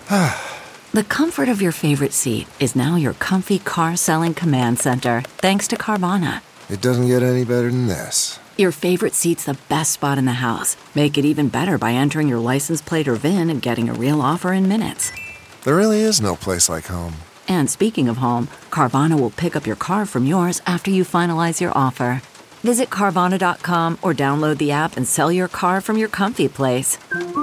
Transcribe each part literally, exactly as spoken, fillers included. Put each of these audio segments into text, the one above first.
The comfort of your favorite seat is now your comfy car selling command center, thanks to Carvana. It doesn't get any better than this. Your favorite seat's the best spot in the house. Make it even better by entering your license plate or V I N and getting a real offer in minutes. There really is no place like home. And speaking of home, Carvana will pick up your car from yours after you finalize your offer. Visit Carvana dot com or download the app and sell your car from your comfy place.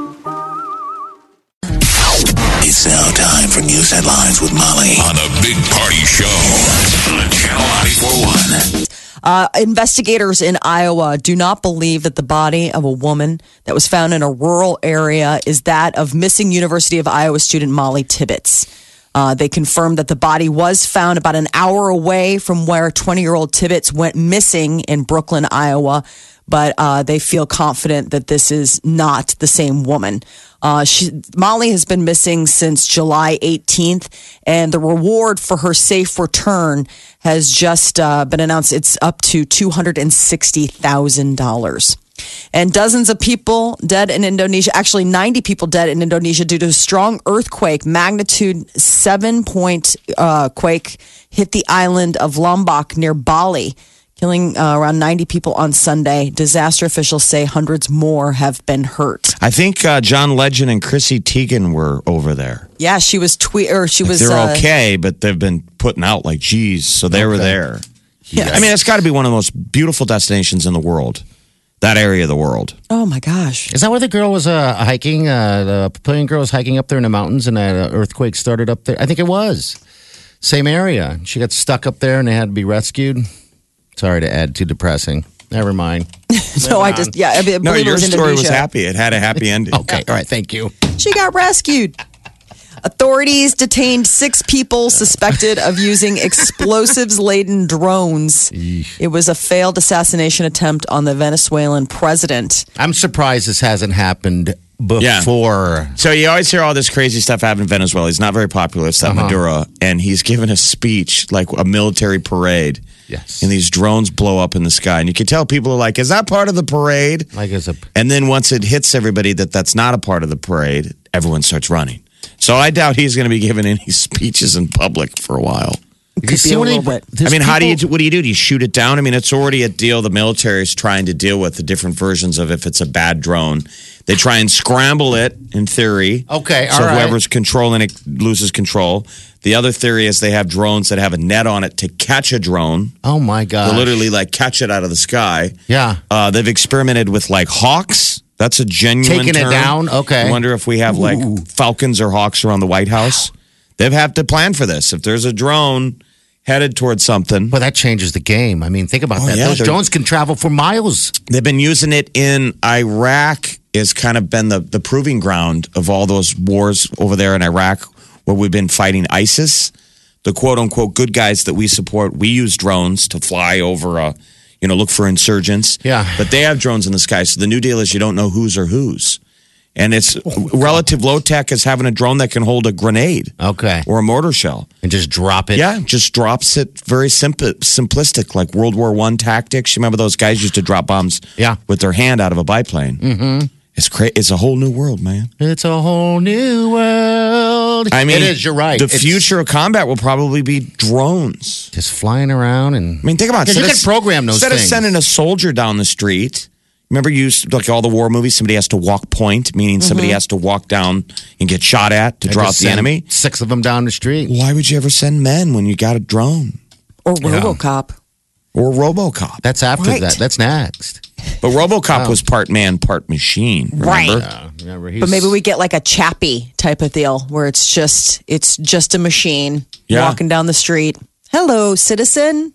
It's now time for news headlines with Molly on the Big Party Show on Channel ninety-four point one. Uh, investigators in Iowa do not believe that the body of a woman that was found in a rural area is that of missing University of Iowa student Molly Tibbetts. Uh, they confirmed that the body was found about an hour away from where twenty-year-old Tibbetts went missing in Brooklyn, Iowa. But uh, they feel confident that this is not the same woman. Uh, she, Molly has been missing since July eighteenth, and the reward for her safe return has just uh, been announced. It's up to two hundred sixty thousand dollars. And dozens of people dead in Indonesia, actually ninety people dead in Indonesia due to a strong earthquake. Magnitude seven point uh, quake hit the island of Lombok near Bali, killing uh, around ninety people on Sunday. Disaster officials say hundreds more have been hurt. I think uh, John Legend and Chrissy Teigen were over there. Yeah, she was tweet or she like was. They're uh, okay, but they've been putting out like, geez, so they okay. were there. Yes. I mean, it's got to be one of the most beautiful destinations in the world. That area of the world. Oh my gosh! Is that where the girl was uh, hiking? Uh, the Papillion girl was hiking up there in the mountains, and that uh, earthquake started up there. I think it was same area. She got stuck up there, and they had to be rescued. Sorry to add too depressing. Never mind. So I just yeah. I believe no, it your was story was Indonesia. happy. It had a happy ending. Okay, all right. Thank you. She got rescued. Authorities detained six people suspected of using explosives-laden drones. It was a failed assassination attempt on the Venezuelan president. I'm surprised this hasn't happened before. Yeah. So you always hear all this crazy stuff happen in Venezuela. He's not very popular. It's that uh-huh. Maduro. And he's given a speech, like a military parade. Yes. And these drones blow up in the sky. And you can tell people are like, is that part of the parade? Like as a... And then once it hits everybody that that's not a part of the parade, everyone starts running. So I doubt he's going to be giving any speeches in public for a while. Could be a little bit. I mean, how do you what do you do? Do you shoot it down? I mean, it's already a deal the military is trying to deal with, the different versions of if it's a bad drone. They try and scramble it, in theory. Okay, all so right. whoever's controlling it loses control. The other theory is they have drones that have a net on it to catch a drone. Oh, my God. They literally, like, catch it out of the sky. Yeah. Uh, they've experimented with, like, hawks. That's a genuine Taking term. it down? Okay. I wonder if we have, like, Ooh. falcons or hawks around the White House. They've had to plan for this. If there's a drone headed towards something. Well, that changes the game. I mean, think about oh, that. Yeah, Those drones can travel for miles. They've been using it in Iraq. Has kind of been the, the proving ground of all those wars over there in Iraq where we've been fighting ISIS. The quote-unquote good guys that we support, we use drones to fly over, a, you know, look for insurgents. Yeah. But they have drones in the sky. So the new deal is you don't know whose or whose. And it's oh, relative low tech as having a drone that can hold a grenade. Okay. Or a mortar shell. And just drop it. Yeah, just drops it very simple, simplistic, like World War One tactics. You remember those guys used to drop bombs yeah. with their hand out of a biplane? Mm-hmm. It's cra- It's a whole new world, man. It's a whole new world. I mean, it is. You're right. The it's, future of combat will probably be drones, just flying around and. I mean, think about it. You can program those instead things. of sending a soldier down the street. Remember, you used like all the war movies. Somebody has to walk point, meaning mm-hmm. somebody has to walk down and get shot at to I draw out the enemy. Six of them down the street. Why would you ever send men when you got a drone or RoboCop yeah. or RoboCop? That's after right. that. That's next. But RoboCop oh. was part man, part machine. Remember? Right. Yeah, remember, but maybe we get like a Chappie type of deal where it's just it's just a machine yeah. walking down the street. Hello, citizen.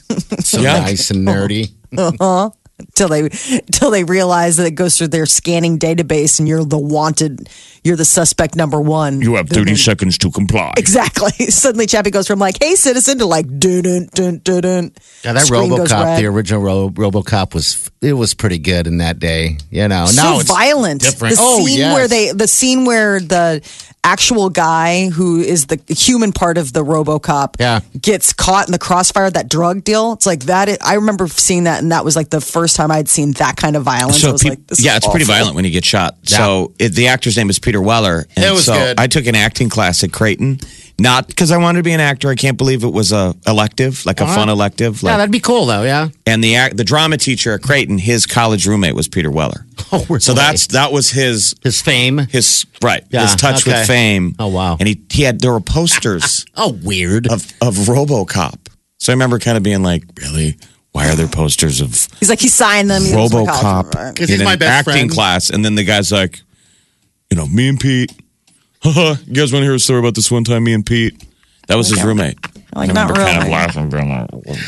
So yeah. nice and nerdy. Uh-huh. Till they till they realize that it goes through their scanning database and you're the wanted, you're the suspect number one. You have thirty seconds to comply. Exactly. Suddenly Chappie goes from like, hey citizen to like dun dun dun dun dun. Yeah, that Screen goes RoboCop, red. the original Ro- RoboCop was it was pretty good in that day. You know, So now it's violent. different. The oh, scene yes. where they the scene where the actual guy who is the human part of the RoboCop yeah. gets caught in the crossfire, that drug deal. It's like that. I remember seeing that, and that was like the first first time I'd seen that kind of violence. So I was peop- like, this yeah, is it's pretty awful. violent when you get shot. Yeah. So it, the actor's name is Peter Weller. And It was so good. I took an acting class at Creighton, not because I wanted to be an actor. I can't believe it was a elective, like a Uh-huh. fun elective. Yeah, Like, that'd be cool though. Yeah. and the act, the drama teacher at Creighton, his college roommate was Peter Weller. Oh, really? So that's that was his his fame. his right Yeah, his touch okay. with fame. Oh, wow. And he he had there were posters Oh, weird. of of RoboCop. So I remember kind of being like, really, why are there posters of He's like, he signed them. He was like, oh, RoboCop right. 'Cause in he's an my best acting friend. class? And then the guy's like, you know, me and Pete. Haha, you guys want to hear a story about this one time? Me and Pete. That was his Okay. roommate. Like, I not remember kind of really. laughing, being like,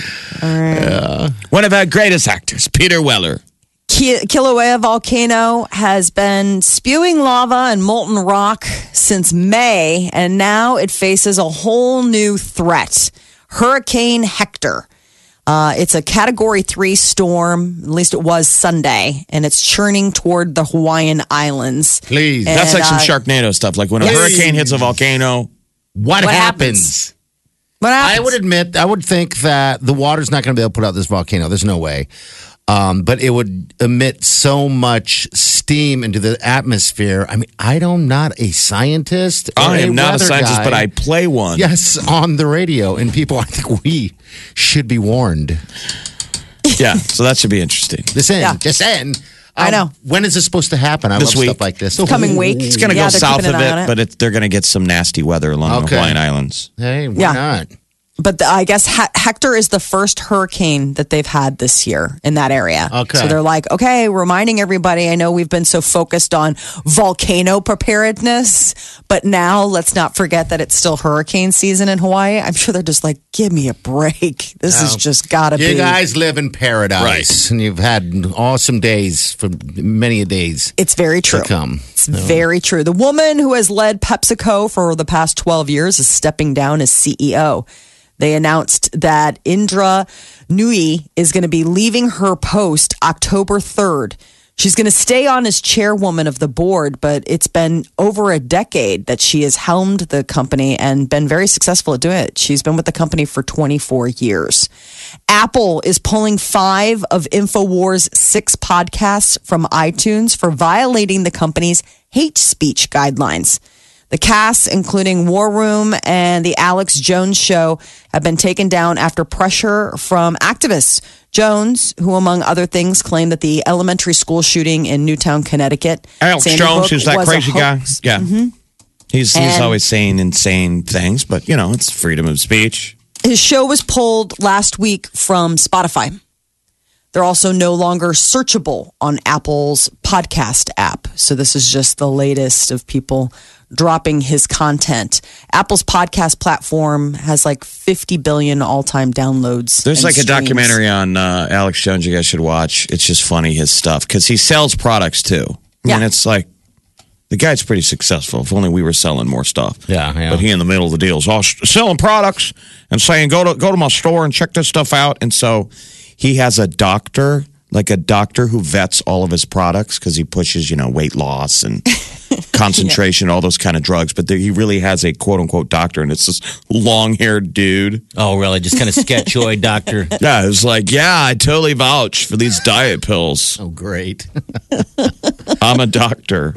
yeah. One of our greatest actors, Peter Weller. Ki- Kilauea volcano has been spewing lava and molten rock since May, and now it faces a whole new threat. Hurricane Hector. Uh, it's a category three storm, at least it was Sunday, and it's churning toward the Hawaiian Islands. Please. And, That's like some uh, Sharknado stuff. Like when a yes. hurricane hits a volcano. what, what happens? What I happens? would admit, I would think that the water's not going to be able to put out this volcano. There's no way. Um, but it would emit so much steam into the atmosphere. I mean, I am not a scientist. or I am not a weather scientist, guy. but I play one. Yes, on the radio. And people, I think we should be warned. Yeah, so that should be interesting. This in, Yeah. just in. I know. When is this supposed to happen? I This love week. stuff like this. Coming week. It's going to Yeah, go they're south keeping of an eye on it, it. but it, they're going to get some nasty weather along the Okay. Hawaiian Islands. Hey, why Yeah. not? But the, I guess he- Hector is the first hurricane that they've had this year in that area. Okay. So they're like, okay, reminding everybody. I know we've been so focused on volcano preparedness, but now let's not forget that it's still hurricane season in Hawaii. I'm sure they're just like, give me a break. This has Oh. just got to You be. guys live in paradise. Right. And you've had awesome days for many a days It's very true. to come. It's very true. The woman who has led PepsiCo for the past twelve years is stepping down as C E O. They announced that Indra Nui is going to be leaving her post October third. She's going to stay on as chairwoman of the board, but it's been over a decade that she has helmed the company and been very successful at doing it. She's been with the company for twenty-four years. Apple is pulling five of InfoWars' six podcasts from iTunes for violating the company's hate speech guidelines. The casts, including War Room and The Alex Jones Show, have been taken down after pressure from activists. Jones, who among other things claimed that the elementary school shooting in Newtown, Connecticut, Alex Sandy Jones, Hook, who's that was a crazy guy? hoax. Yeah. He's, he's And- always saying insane things, but, you know, it's freedom of speech. His show was pulled last week from Spotify. They're also no longer searchable on Apple's podcast app. So this is just the latest of people dropping his content. Apple's podcast platform has like fifty billion all-time downloads. There's and like a streams. documentary on uh, Alex Jones you guys should watch. It's just funny, his stuff, because he sells products too. I mean, Yeah. it's like the guy's pretty successful. If only we were selling more stuff. Yeah, yeah. But he in the middle of the deal is all s- selling products and saying, go to, go to my store and check this stuff out. And so he has a doctor, like a doctor who vets all of his products because he pushes, you know, weight loss and concentration, all those kind of drugs. But there, he really has a quote unquote doctor, and it's this long haired dude. Oh, really? Just kind of sketchoid doctor. Yeah, it's like, yeah, I totally vouch for these diet pills. Oh, great. I'm a doctor.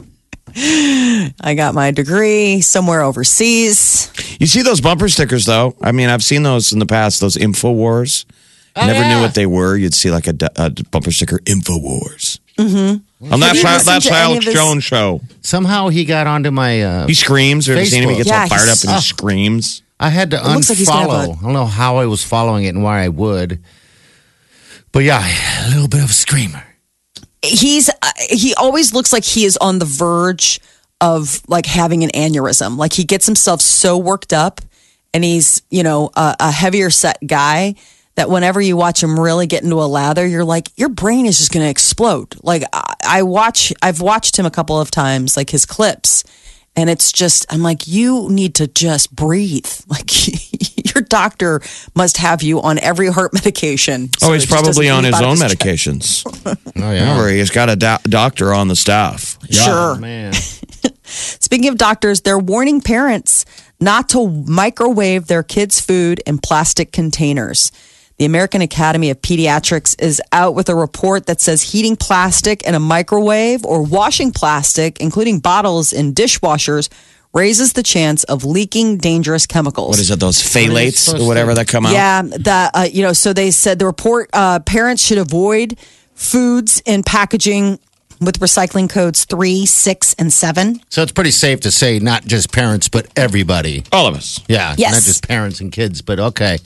I got my degree somewhere overseas. You see those bumper stickers, though? I mean, I've seen those in the past, those InfoWars. I never yeah. knew what they were. You'd see like a, a bumper sticker, InfoWars. Mm-hmm. And that's you how, listened that's to any Alex of his- Jones' show. Somehow he got onto my. Uh, He screams. Have you seen him? He gets Facebook. all fired Yeah, up and he he's- screams. I had to It looks like he's gonna unfollow. have a- I don't know how I was following it and why I would. But yeah, a little bit of a screamer. He's uh, he always looks like he is on the verge of like having an aneurysm. Like he gets himself so worked up, and he's you know a, a heavier set guy that whenever you watch him really get into a lather, you're like your brain is just going to explode. Like I, I watch, I've watched him a couple of times, like his clips, and it's just I'm like you need to just breathe. Like your doctor must have you on every heart medication. Oh, so he's it just probably doesn't on leap his out of own chest. medications. Oh, yeah. Remember, he's got a do- doctor on the staff. Sure. Oh, man. Speaking of doctors, they're warning parents not to microwave their kids' food in plastic containers. The American Academy of Pediatrics is out with a report that says heating plastic in a microwave or washing plastic, including bottles in dishwashers, raises the chance of leaking dangerous chemicals. What is it, those phthalates or whatever that come out? Yeah, the, uh, you know, so they said the report, uh, parents should avoid foods in packaging with recycling codes three, six, and seven. So it's pretty safe to say not just parents, but everybody. All of us. Yeah, Yes. not just parents and kids, but okay.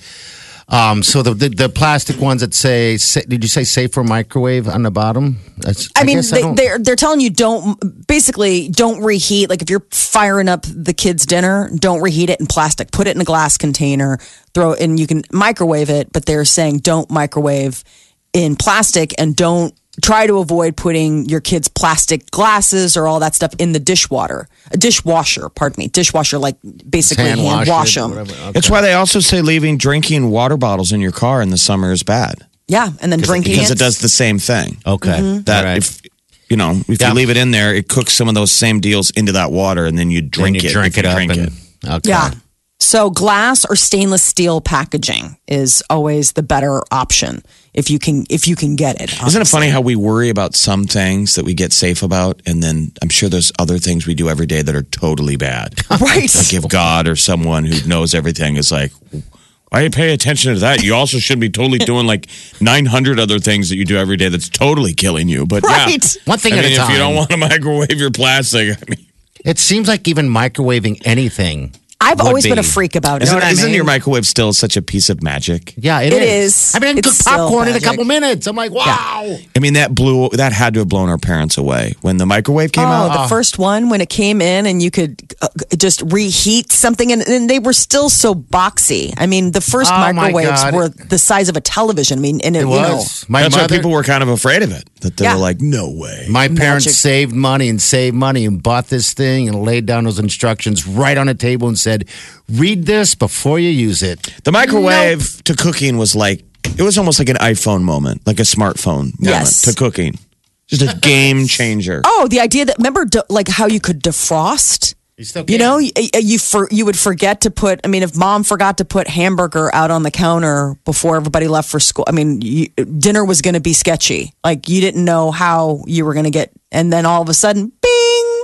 Um, so the, the the plastic ones that say, say, did you say safe for microwave on the bottom? That's, I, mean, guess they, don't- they're they're telling you don't basically don't reheat. Like if you're firing up the kids' dinner, don't reheat it in plastic. Put it in a glass container. Throw it in. You can microwave it, but they're saying don't microwave in plastic and don't try to avoid putting your kids' plastic glasses or all that stuff in the dishwater, a dishwasher. Pardon me, dishwasher. Like basically hand hand, wash, wash it, them. whatever. Okay. That's why they also say leaving drinking water bottles in your car in the summer is bad. Yeah, and then drinking Because it. it does the same thing. Okay. That All right. if you know, if Yeah. you leave it in there, it cooks some of those same deals into that water, and then you Then drink you it. drink if it you up drink and it. okay. Yeah. So glass or stainless steel packaging is always the better option if you can if you can get it. Isn't it obviously. funny how we worry about some things that we get safe about, and then I'm sure there's other things we do every day that are totally bad. Right. Like if God or someone who knows everything is like, why you pay attention to that? You also should be totally doing like nine hundred other things that you do every day that's totally killing you. But Right. yeah, One thing I at a mean, if you time. don't want to microwave your plastic, I mean, It seems like even microwaving anything. I've would always been a be. freak about it. isn't, You know what I isn't mean? your microwave still such a piece of magic? Yeah, it, It is. is. I mean, I can It's cook still popcorn in a magic. couple minutes. I'm like, wow. I mean, that blew that had to have blown our parents away when the microwave came Oh, out. the first one when it came in and you could uh, just reheat something, and, and they were still so boxy. I mean, the first Oh, my microwaves God. were the size of a television. I mean, and it, It you know, was. My That's mother, why people were kind of afraid of it. That they Yeah. were like, no way. my parents Magic. saved money and saved money and bought this thing and laid down those instructions right on a table and said, read this before you use it. The microwave to cooking was like, it was almost like an iPhone moment, like a smartphone moment Yes. to cooking. Just a game changer. Oh, the idea that remember de- like how you could defrost. You still You can. know, you, you for you would forget to put. I mean, if mom forgot to put hamburger out on the counter before everybody left for school, I mean, you, dinner was going to be sketchy. Like you didn't know how you were going to get, and then all of a sudden, bing,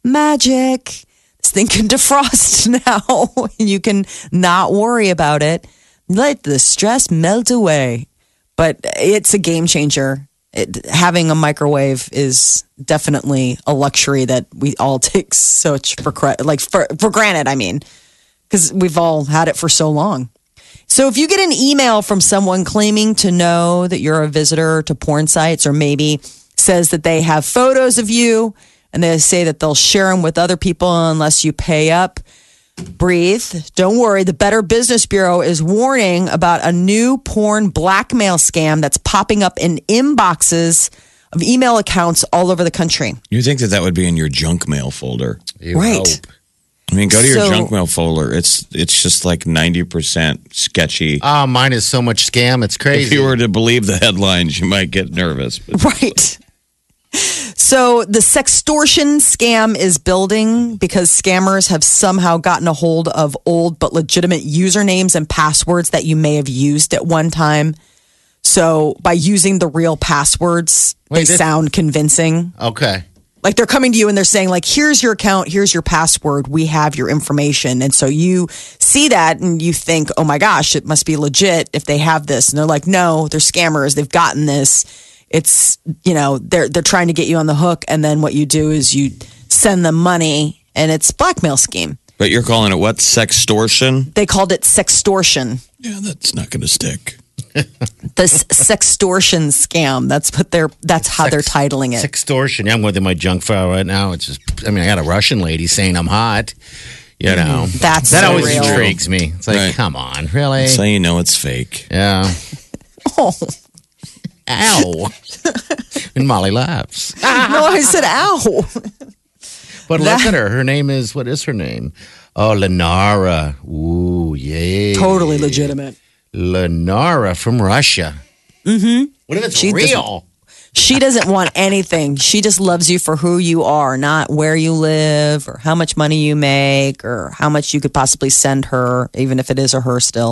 magic. This thing can defrost now. You can not worry about it. Let the stress melt away. But it's a game changer. It, having a microwave is definitely a luxury that we all take such for cre- like for, for granted. I mean, because we've all had it for so long. So if you get an email from someone claiming to know that you're a visitor to porn sites, or maybe says that they have photos of you and they say that they'll share them with other people unless you pay up, breathe. Don't worry. The Better Business Bureau is warning about a new porn blackmail scam that's popping up in inboxes of email accounts all over the country. You think that that would be in your junk mail folder? You Right. hope. I mean, go to your So- junk mail folder. It's it's just like ninety percent sketchy. Oh, mine is so much scam. It's crazy. If you were to believe the headlines, you might get nervous. But Right. So the sextortion scam is building because scammers have somehow gotten a hold of old but legitimate usernames and passwords that you may have used at one time. So by using the real passwords, Wait, they this- sound convincing. okay. Like they're coming to you and they're saying like, here's your account, here's your password, we have your information. And so you see that and you think, oh my gosh, it must be legit if they have this. And they're like, no, they're scammers. They've gotten this. It's, you know, they're, they're trying to get you on the hook. And then what you do is you send them money and it's blackmail scheme. but you're calling it what? Sextortion? They called it sextortion. Yeah, that's not going to stick. The s- sextortion scam. That's what they're, that's how they're titling it. Sextortion. Yeah, I'm going through my junk file right now. It's just, I mean, I got a Russian lady saying I'm hot. You know, That's that so always real. intrigues me. It's like, Right. come on, really? So you know it's fake. Yeah. Oh, Ow. And Molly laughs. no, I said, ow. But That- look at her. Her name is, what is her name? Oh, Lenara. Ooh, yeah. Totally legitimate. Lenara from Russia. Mm-hmm. What if it's She real? She doesn't want anything. She just loves you for who you are, not where you live or how much money you make or how much you could possibly send her, even if it is a her still.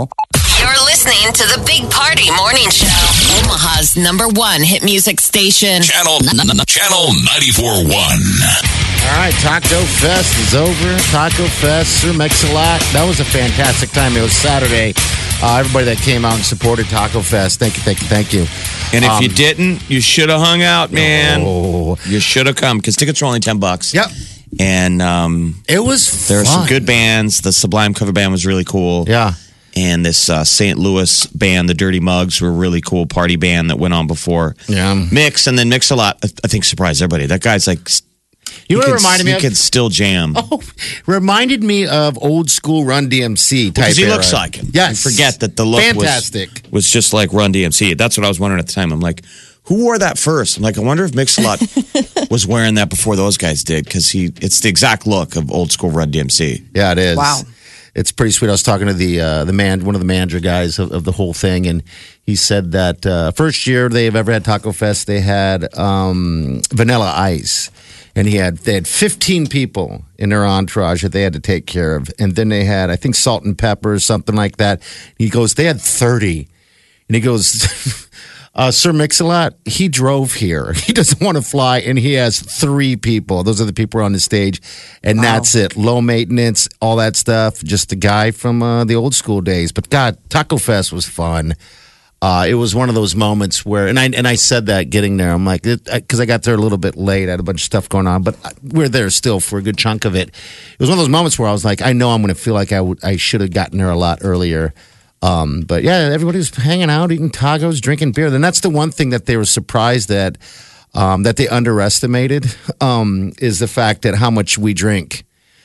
You're listening to the Big Party Morning Show. Omaha's number one hit music station. Channel Channel ninety-four point one. All right, Taco Fest is over. Taco Fest, Sir Mix-a-Lot. That was a fantastic time. It was Saturday. Uh, everybody that came out and supported Taco Fest, thank you, thank you, thank you. And if Um, you didn't, you should have hung out, man. Oh. You should have come because tickets were only ten bucks. Yep. And um, It was there were fun. some good bands. The Sublime cover band was really cool. Yeah. And this uh, Saint Louis band, the Dirty Mugs, were a really cool party band that went on before Yeah. Mix. And then Mix a Lot, I think, surprised everybody. That guy's like, You know what can, it reminded me he of? could still jam. Oh, reminded me of old school Run D M C type Because he era. looks like him. Yes. You forget that the look Fantastic. was, was just like Run D M C. That's what I was wondering at the time. I'm like, who wore that first? I'm like, I wonder if Mix-a-Lot was wearing that before those guys did because he it's the exact look of old school Run D M C. Yeah, it is. Wow. It's pretty sweet. I was talking to the uh, the man, one of the manager guys of, of the whole thing, and he said that uh, first year they've ever had Taco Fest, they had um, Vanilla Ice, and he had they had fifteen people in their entourage that they had to take care of, and then they had I think Salt and Pepper or something like that. He goes, they had thirty, and he goes. Uh, Sir Mix-a-Lot, he drove here. He doesn't want to fly, and he has three people. Those are the people on the stage, and that's it. Low maintenance, all that stuff. Just a guy from uh, the old school days. But God, Taco Fest was fun. Uh, it was one of those moments where, and I and I said that getting there, I'm like, because I got there a little bit late, I had a bunch of stuff going on, but we're there still for a good chunk of it. It was one of those moments where I was like, I know I'm going to feel like I would, I should have gotten there a lot earlier. Um, but yeah, everybody was hanging out, eating tacos, drinking beer. Then that's the one thing that they were surprised at, um, that they underestimated, um, is the fact that how much we drink,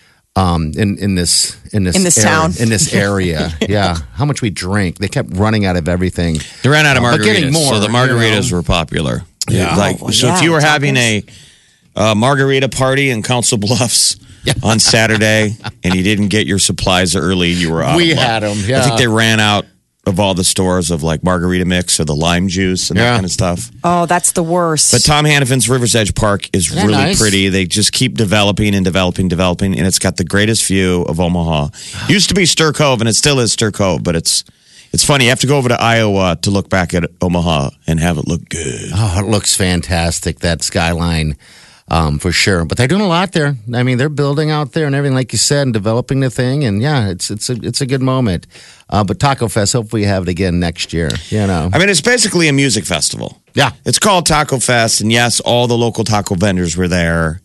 um, in, in this, in this, In this area, town. in this area. yeah. How much we drink. They kept running out of everything. They ran out of Uh, but margaritas, getting more, so the margaritas you know. were popular. Yeah. like Oh, so. yeah, If you were tacos. having a uh, margarita party in Council Bluffs on Saturday and you didn't get your supplies early, you were out. We of luck. had 'em, I yeah. think they ran out of all the stores of like margarita mix or the lime juice and that Yeah. kind of stuff. Oh, that's the worst. But Tom Hannafin's River's Edge Park is Isn't that really nice? pretty. They just keep developing and developing, developing, and it's got the greatest view of Omaha. Used to be Stir Cove, and it still is Stir Cove, but it's it's funny. You have to go over to Iowa to look back at Omaha and have it look good. Oh, it looks fantastic, that skyline, um, for sure. But they're doing a lot there. I mean, they're building out there and everything, like you said, and developing the thing. And yeah, it's it's a it's a good moment. Uh, but Taco Fest, hopefully, we have it again next year. You know, I mean, it's basically a music festival. yeah, It's called Taco Fest, and yes, all the local taco vendors were there,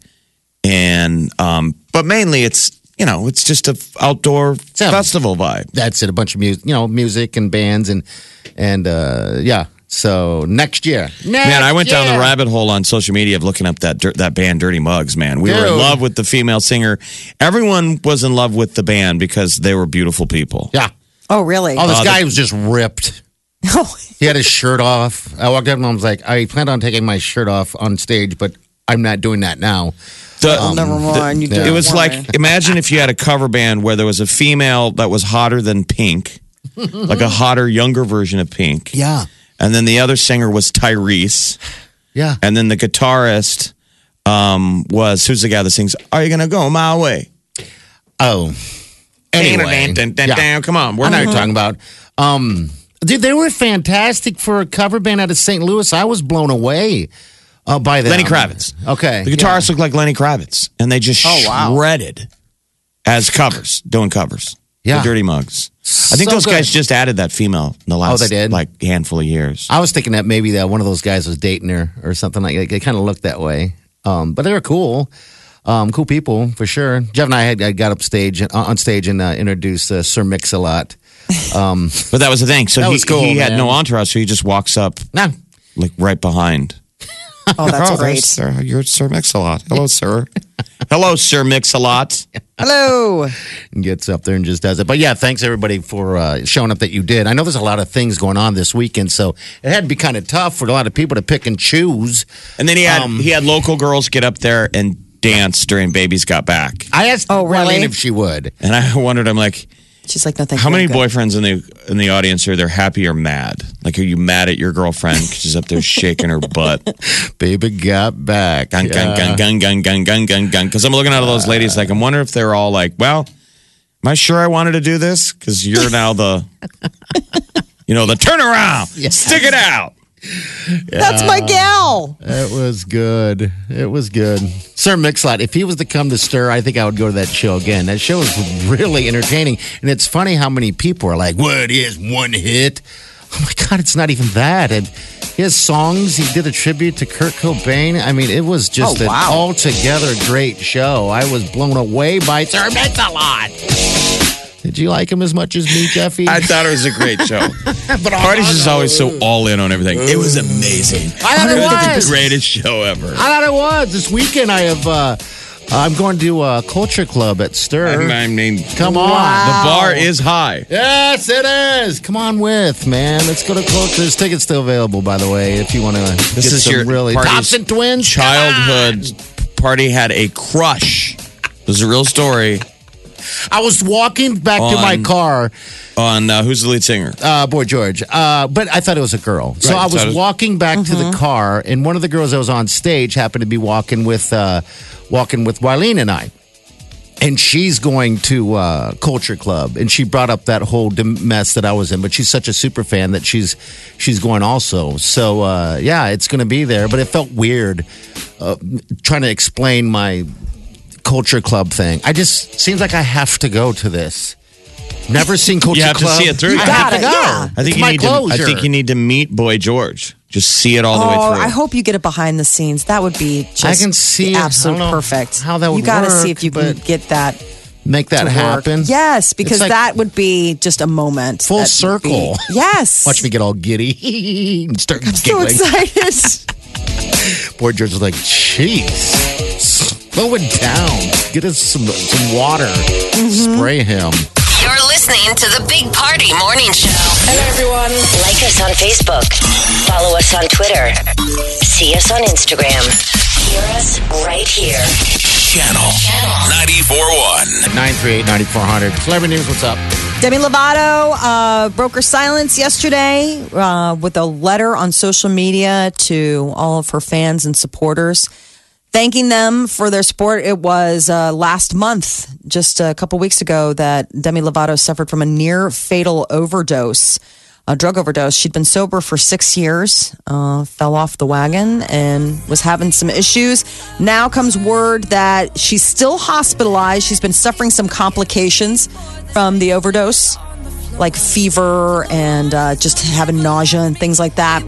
and um, but mainly it's you know it's just a f- outdoor Yeah. festival vibe. that's it. A bunch of music, you know, music and bands and and uh, yeah. So next year, Man, I went down the year. rabbit hole on social media of looking up that dir- that band Dirty Mugs. Man, we were in Dude. love with the female singer. Everyone was in love with the band because they were beautiful people. Yeah. oh, really? Oh, this Uh, guy the- was just ripped. Oh, He had his shirt off. I walked up and I was like, I planned on taking my shirt off on stage, but I'm not doing that now. The- oh, never mind. You yeah. did it was for like me. imagine if you had a cover band where there was a female that was hotter than Pink, like a hotter, younger version of Pink. Yeah. And then the other singer was Tyrese. Yeah. And then the guitarist um, was who's the guy that sings "Are You Gonna Go My Way"? Oh. Anyway. Dun, dun, dun, Yeah. dun. Come on, I we're know not what you're talking about. Um, dude, they were fantastic for a cover band out of Saint Louis. I was blown away uh, by them. Lenny Kravitz. Okay. The guitarists look like Lenny Kravitz, and they just Oh, wow. shredded as covers, doing covers. Yeah. The Dirty Mugs. I think So those guys good. just added that female in the last they did? like handful of years. I was thinking that maybe that one of those guys was dating her or something like that. They kind of looked that way. Um, but they were cool. Um, cool people for sure. Jeff and I had I got up stage uh, on stage and uh, introduced uh, Sir Mix-a-Lot. Um, But that was the thing. So That he, was cool, he had man. no entourage, so he just walks up nah, like right behind. oh, that's oh, great. there's Sir, you're Sir Mix-a-Lot. Hello, sir. Hello, Sir Mix-a-Lot. Hello. and gets up there and just does it. But yeah, thanks everybody for uh, showing up that you did. I know there's a lot of things going on this weekend, so it had to be kind of tough for a lot of people to pick and choose. And then he had Um, he had local girls get up there and dance during Babies Got Back. I asked Oh, really? Marlene if she would. And I wondered, I'm like, She's like, no, thank how you. many I'm good. boyfriends in the in the audience are there happy or mad? Like, are you mad at your girlfriend because she's up there shaking her butt? Baby got back. Gun, gun, Yeah. gun, gun, gun, gun, gun, gun, gun. Because I'm looking at all those ladies, like, I'm wondering if they're all like, well, Am I sure I wanted to do this? Because you're now the, you know, the turnaround. Stick it out. That's my gal. It was good. It was good. Sir Mix-a-Lot, if he was to come to Stir, I think I would go to that show again. That show is really entertaining. And it's funny how many people are like, what is one hit? Oh my God, it's not even that. And his songs, he did a tribute to Kurt Cobain. I mean, it was just Oh, an wow. altogether great show. I was blown away by Sir Mix-a-Lot. Did you like him as much as me, Jeffy? I thought it was a great show. but Party's is always so all in on everything. It was amazing. I thought it was. the greatest show ever. I thought it was. This weekend, I have. Uh, I'm going to a culture club at Stir. I mean, Come on. the bar is high. Yes, it is. Come on with, man. Let's go to culture. There's tickets still available, by the way, if you want to This get is some your really Party's Thompson twins. Childhood Party had a crush. This is a real story I was walking back to my On- car, on uh, who's the lead singer? uh, Boy George, uh, but I thought it was a girl. So Right, I so was it was- walking back to the car, and one of the girls that was on stage happened to be walking with, uh, walking with Wileen and I. And she's going to uh, Culture Club, and she brought up that whole dim- mess that I was in. But she's such a super fan that she's she's going also. So uh, yeah, it's going to be there. But it felt weird uh, trying to explain my Culture Club thing. I just seems like I have to go to this. Never seen Culture You have to Club. see it through. I You have gotta, to go. yeah. I think It's you my need to. I closure. think you need to meet Boy George. Just see it all the way Oh, through. I hope you get it behind the scenes. That would be just I can see the it. I absolute don't know perfect. how that would You got to work, see if you can but- get that Make that to work. happen. Yes, because It's like- that would be just a moment. Full That would be- circle. Yes. Watch me get all giddy and start So giggling. excited. Boy George was like, jeez, slow it down. Get us some some water. Spray him. You're listening to the Big Party Morning Show. Hello, everyone. Like us on Facebook. Follow us on Twitter. See us on Instagram. Hear us right here. Channel ninety-four point one. nine three eight, nine four zero zero. Celebrity News, what's up? Demi Lovato uh, broke her silence yesterday uh, with a letter on social media to all of her fans and supporters, thanking them for their support. It was uh, last month, just a couple weeks ago, that Demi Lovato suffered from a near fatal overdose, a drug overdose. She'd been sober for six years, uh, fell off the wagon, and was having some issues. Now comes word that she's still hospitalized. She's been suffering some complications from the overdose, like fever and uh, just having nausea and things like that.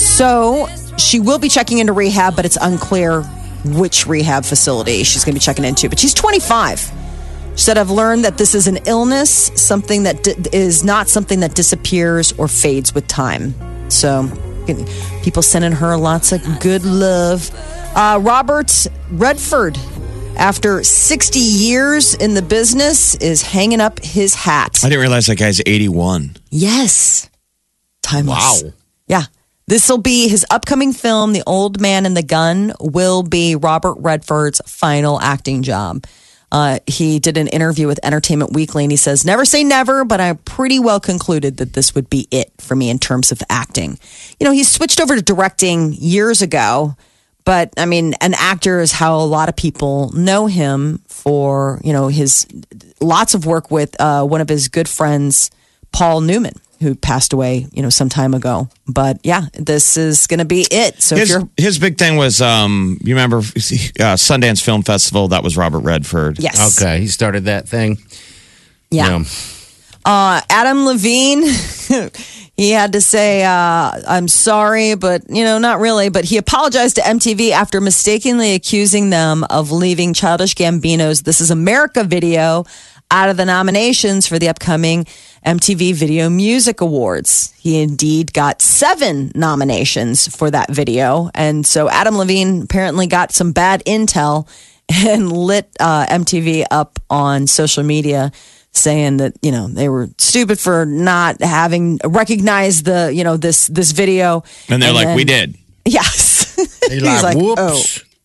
So she will be checking into rehab, but it's unclear which rehab facility she's going to be checking into. But she's twenty-five. She said, I've learned that this is an illness, something that di- is not something that disappears or fades with time. So people sending her lots of good love. Uh, Robert Redford, after sixty years in the business, is hanging up his hat. I didn't realize that guy's eighty-one. Yes. Timeless. Wow. Yeah. This will be his upcoming film, The Old Man and the Gun, will be Robert Redford's final acting job. Uh, he did an interview with Entertainment Weekly, and he says, never say never, but I pretty well concluded that this would be it for me in terms of acting. You know, he switched over to directing years ago, but I mean, an actor is how a lot of people know him for, you know, his lots of work with uh, one of his good friends, Paul Newman, who passed away, you know, some time ago. But yeah, this is going to be it. So if His, you're, his big thing was, um, you remember uh, Sundance Film Festival? That was Robert Redford. yes. Okay, he started that thing. Yeah. Uh, Adam Levine, he had to say, uh, I'm sorry, but, you know, not really. But he apologized to M T V after mistakenly accusing them of leaving Childish Gambino's This Is America video out of the nominations for the upcoming M T V Video Music Awards. He indeed got seven nominations for that video. And so Adam Levine apparently got some bad intel and lit uh, M T V up on social media, saying that, you know, they were stupid for not having recognized the, you know, this this video. And they're like, then- we did. Yes. He's like, whoops. oh,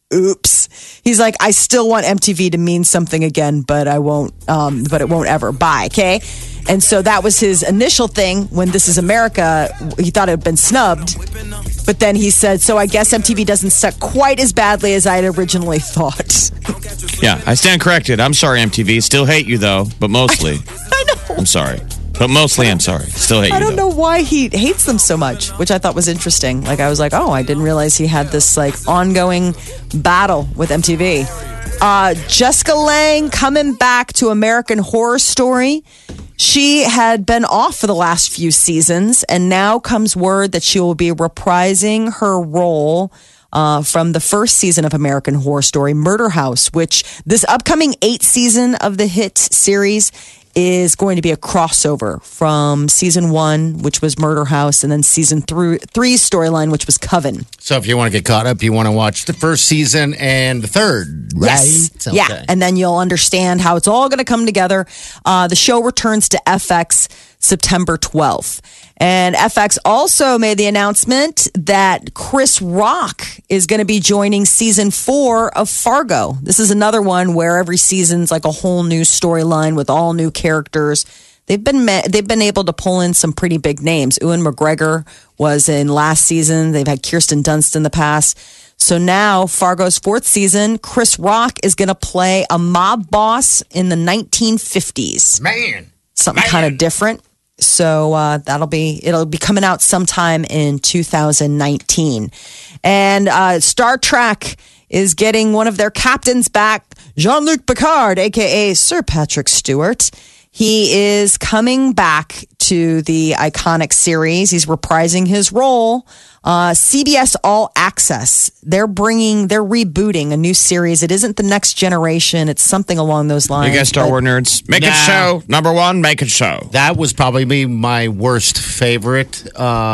oops. He's like, I still want M T V to mean something again, but I won't, um, but it won't ever. Bye, okay? And so that was his initial thing when This Is America. He thought it had been snubbed. But then he said, so I guess M T V doesn't suck quite as badly as I had originally thought. Yeah, I stand corrected. I'm sorry, M T V. Still hate you, though, but mostly. I know. I'm sorry. But mostly, I'm sorry. Still hate you, I don't though. know why he hates them so much, which I thought was interesting. Like, I was like, oh, I didn't realize he had this, like, ongoing battle with M T V. Uh, Jessica Lange coming back to American Horror Story. She had been off for the last few seasons, and now comes word that she will be reprising her role uh, from the first season of American Horror Story, Murder House, which this upcoming eighth season of the hit series is going to be a crossover from season one, which was Murder House, and then season three, three's storyline, which was Coven. So if you want to get caught up, you want to watch the first season and the third, right? Yes. Okay. Yeah, and then you'll understand how it's all going to come together. Uh, the show returns to F X September twelfth. And F X also made the announcement that Chris Rock is going to be joining season four of Fargo. This is another one where every season's like a whole new storyline with all new characters. They've been they've been able to pull in some pretty big names. Ewan McGregor was in last season. They've had Kirsten Dunst in the past. So now Fargo's fourth season, Chris Rock is going to play a mob boss in the nineteen fifties. Man. Something Man. kind of different. So uh, that'll be it'll be coming out sometime in two thousand nineteen. And uh, Star Trek is getting one of their captains back, Jean-Luc Picard, aka Sir Patrick Stewart. He is coming back to the iconic series. He's reprising his role. Uh, C B S All Access, they're bringing, they're rebooting a new series. It isn't The Next Generation. It's something along those lines. You guys Star but- Wars nerds? Make it Nah. so. Number one, make it so. That was probably be my worst favorite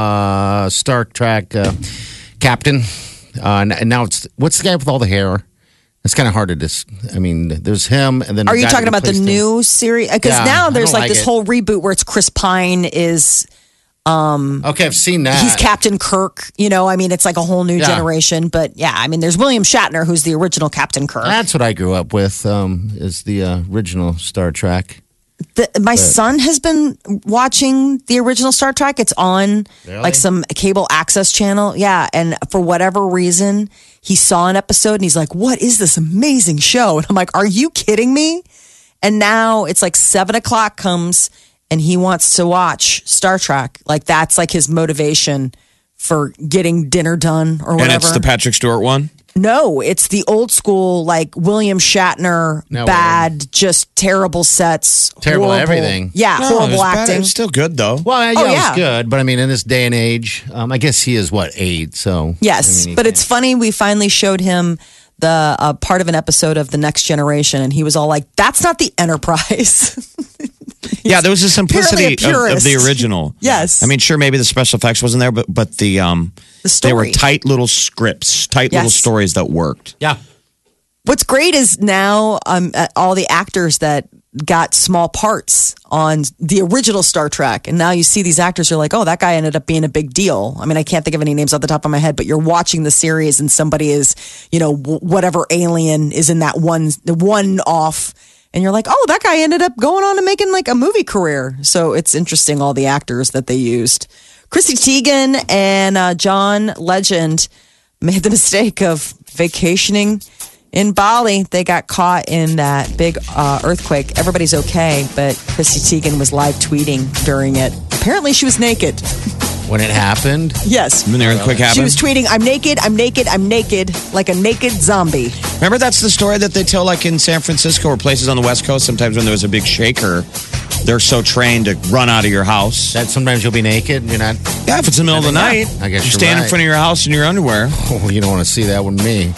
uh, Star Trek uh, captain. Uh, and now it's, what's the guy with all the hair? It's kind of hard to dis. I mean, there's him, and then Are the you guy talking that about the replaced him. new series? Because Yeah, now I there's don't like like this it. whole reboot where it's Chris Pine is Okay, I've seen that. he's Captain Kirk. You know, I mean, it's like a whole new Yeah. generation. But yeah, I mean, there's William Shatner, who's the original Captain Kirk. That's what I grew up with. Um, is the uh, original Star Trek. The, my son has been watching the original Star Trek. It's on Really? like some cable access channel. Yeah. And for whatever reason, he saw an episode and he's like, what is this amazing show? And I'm like, are you kidding me? And now it's like seven o'clock comes and he wants to watch Star Trek. Like that's like his motivation for getting dinner done or whatever. And it's the Patrick Stewart one? No, it's the old school, like William Shatner, No bad, just terrible sets. Terrible horrible- everything. Yeah, No, horrible it's bad. acting. It's still good, though. Well, yeah, Oh, it yeah. was good, but I mean, in this day and age, um, I guess he is what eight. So Yes, I mean, he but can't- it's funny. We finally showed him the uh, part of an episode of The Next Generation, and he was all like, that's not the Enterprise. Yeah, there was a simplicity Apparently a of, of the purist. original. Yes. I mean, sure, maybe the special effects wasn't there, but but the um, The they were story. tight little scripts, tight little Yes. stories that worked. yeah. What's great is now um, uh, all the actors that got small parts on the original Star Trek, and now you see these actors are like, oh, that guy ended up being a big deal. I mean, I can't think of any names off the top of my head, but you're watching the series and somebody is, you know, w- whatever alien is in that one, the one off. And you're like, oh, that guy ended up going on to making like a movie career. So it's interesting, all the actors that they used. Chrissy Teigen and uh, John Legend made the mistake of vacationing in Bali. They got caught in that big uh, earthquake. Everybody's okay, but Chrissy Teigen was live tweeting during it. Apparently, she was naked. When it happened, Yes. When the earthquake She happened. was tweeting, I'm naked, I'm naked, I'm naked, like a naked zombie. Remember, that's the story that they tell, like in San Francisco or places on the West Coast. Sometimes when there was a big shaker, they're so trained to run out of your house. that sometimes you'll be naked. You're not. Yeah, if it's the middle of the Yeah, night, I guess you you're stand in right. front of your house in your underwear. Oh, you don't want to see that with me.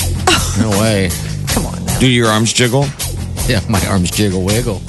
No way. Come on now. Do your arms jiggle? Yeah, my arms jiggle wiggle.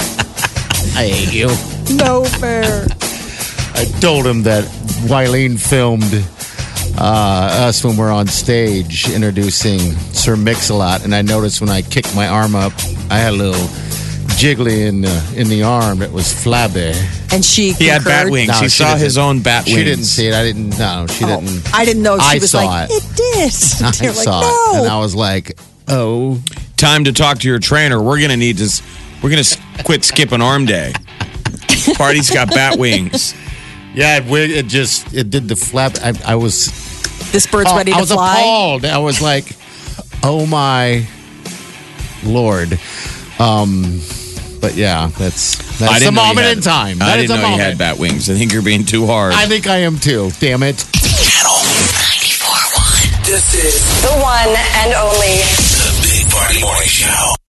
I hate you. No fair. I told him that Wileen filmed uh, us when we're on stage introducing Sir Mix-a-Lot, and I noticed when I kicked my arm up, I had a little jiggly in the, in the arm. It was flabby. And she He had bat concurred? wings. No, he she saw didn't. his own bat wings. She didn't see it. I didn't. No, she Oh, didn't. I didn't know. She I was saw like, it. it did. I You're like, saw no. it, and I was like, "Oh, Time to talk to your trainer. We're gonna need to. s- We're gonna s- quit skipping arm day. Party's got bat wings. yeah." It, wi- it just it did the flap. I, I was. This bird's oh, ready I to was fly. appalled. I was like, "Oh my lord." Um, but yeah, that's I that's a didn't know you moment had- in time. I That didn't is a know you moment. had bat wings. I think you're being too hard. I think I am too. Damn it. Channel ninety-four point one. This is The one and only. the Big Party Morning Show.